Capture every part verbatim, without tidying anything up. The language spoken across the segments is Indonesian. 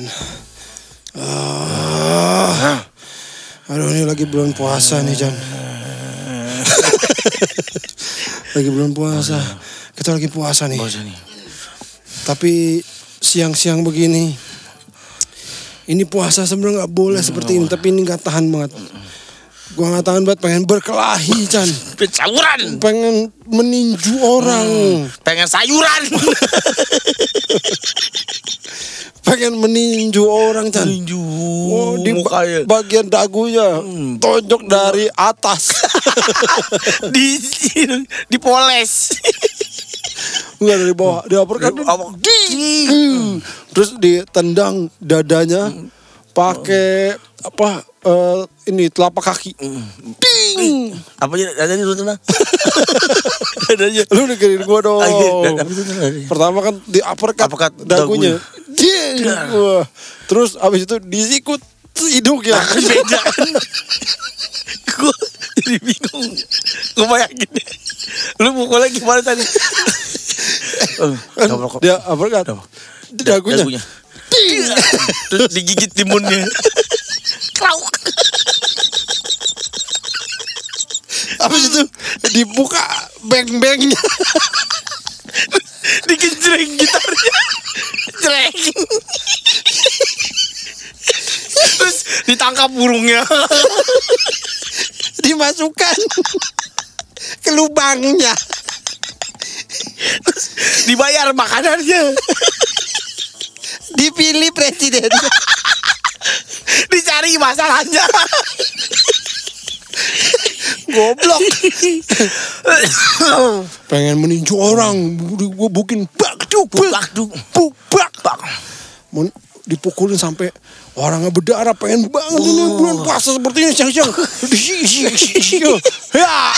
Uh, aduh ini lagi bulan puasa nih Jan. Lagi bulan puasa. Kita lagi puasa nih. Puasa nih. Tapi siang-siang begini. Ini puasa sebenarnya nggak boleh hmm, seperti ini. Tapi ini nggak tahan banget. Gua nggak tahan banget, pengen berkelahi Chan. Sayuran. Pengen meninju orang. Hmm, pengen sayuran. Pengen meninju orang Chan. Meninju. Oh, di mukanya. Bagian dagunya. Hmm. Tonjok dari atas. di dipoles. Enggak dari bawah. Di uppercut. Hmm. Terus ditendang dadanya pakai apa uh, ini telapak kaki. Ding. Apa aja dadanya itu tenang. Dadanya. Lu dengerin gua dong. Pertama kan di uppercut, uppercut dagunya. Ding. Wah. Terus abis itu disikut hidungnya. Beda kan. Gua jadi bingung. Gua bayangin. Lu mukulnya gimana tadi? Dia uppercut. Di dagunya. dagunya. Terus digigit timunnya. Klauk. Habis itu dibuka beng-bengnya. Digenjreng gitarnya. Jreng. Terus ditangkap burungnya. Dimasukkan ke lubangnya. Terus dibayar makanannya. Dipilih presiden. Dicari masalahnya. Goblok. Pengen meninju orang, gue bukin bak duk bak duk bak bak. Dipukulin sampai orangnya berdarah, pengen banget ini bulan puasa seperti ini siang-siang. Ya,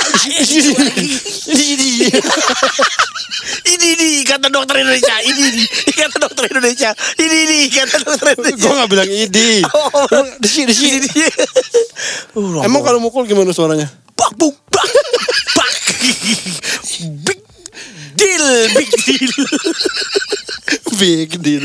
ini nih kata dokter Indonesia, ini nih kata dokter Indonesia, ini nih kata dokter Indonesia. Gue nggak bilang ini. Desi desi. Emang kalau mukul gimana suaranya? Bak buk bak bak. Big deal, big deal. Big deal.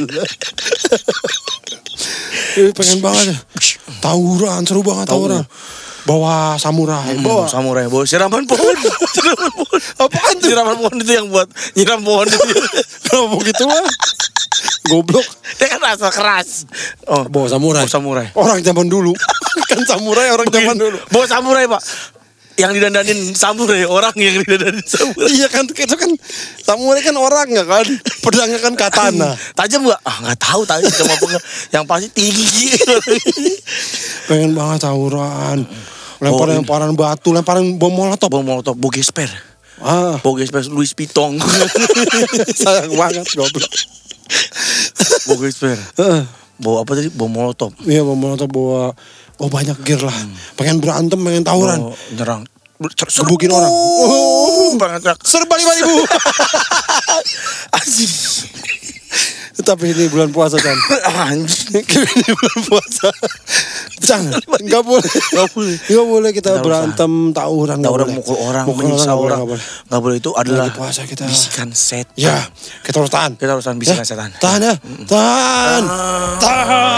Pengen banget ya. Tawuran, seru banget tawuran. Bawa samurai, hmm, bawa samurai, bawa siraman pohon. Siraman pohon. Apaan tuh? Siraman pohon itu yang buat nyiram pohon itu. Kenapa gitu lah? Goblok. Dia kan rasa keras. Oh, bawa samurai. Bawa samurai. Orang zaman dulu. Kan samurai orang zaman dulu. Bawa samurai, Pak. Yang didandanin samurai, orang yang didandanin samurai. Iya kan, itu kan samurai kan orang ya kan, pedangnya kan katana. Tajam nggak? Ah nggak tahu tajam sama apa. Yang pasti tinggi. Pengen banget tawuran, lempar-lemparan batu, lemparan bom molotov, bom molotov, bogesper. Ah, bogesper Louis Vuitton. Sayang banget goblok. Bogesper. Bawa apa tadi? Bom molotov. Iya bom molotov bawa. Oh banyak gear lah. Hmm. Pengen berantem, pengen tawuran. Oh, nyerang. Gebukin orang. Oh, banget. Serba lima ribu. Anjing. Tapi ini bulan puasa kan. Anjing. Ini bulan puasa. Jangan. Enggak boleh. Enggak boleh. Enggak boleh kita Tidak berantem, usah. tawuran. Tawuran mukul orang, menyiksa orang. Enggak boleh. Enggak boleh itu adalah puasa kita. Bisikan setan. Ya, kita harus tahan. Kita harus tahan bisikan ya. setan. Tahan ya. Tahan. Tahan.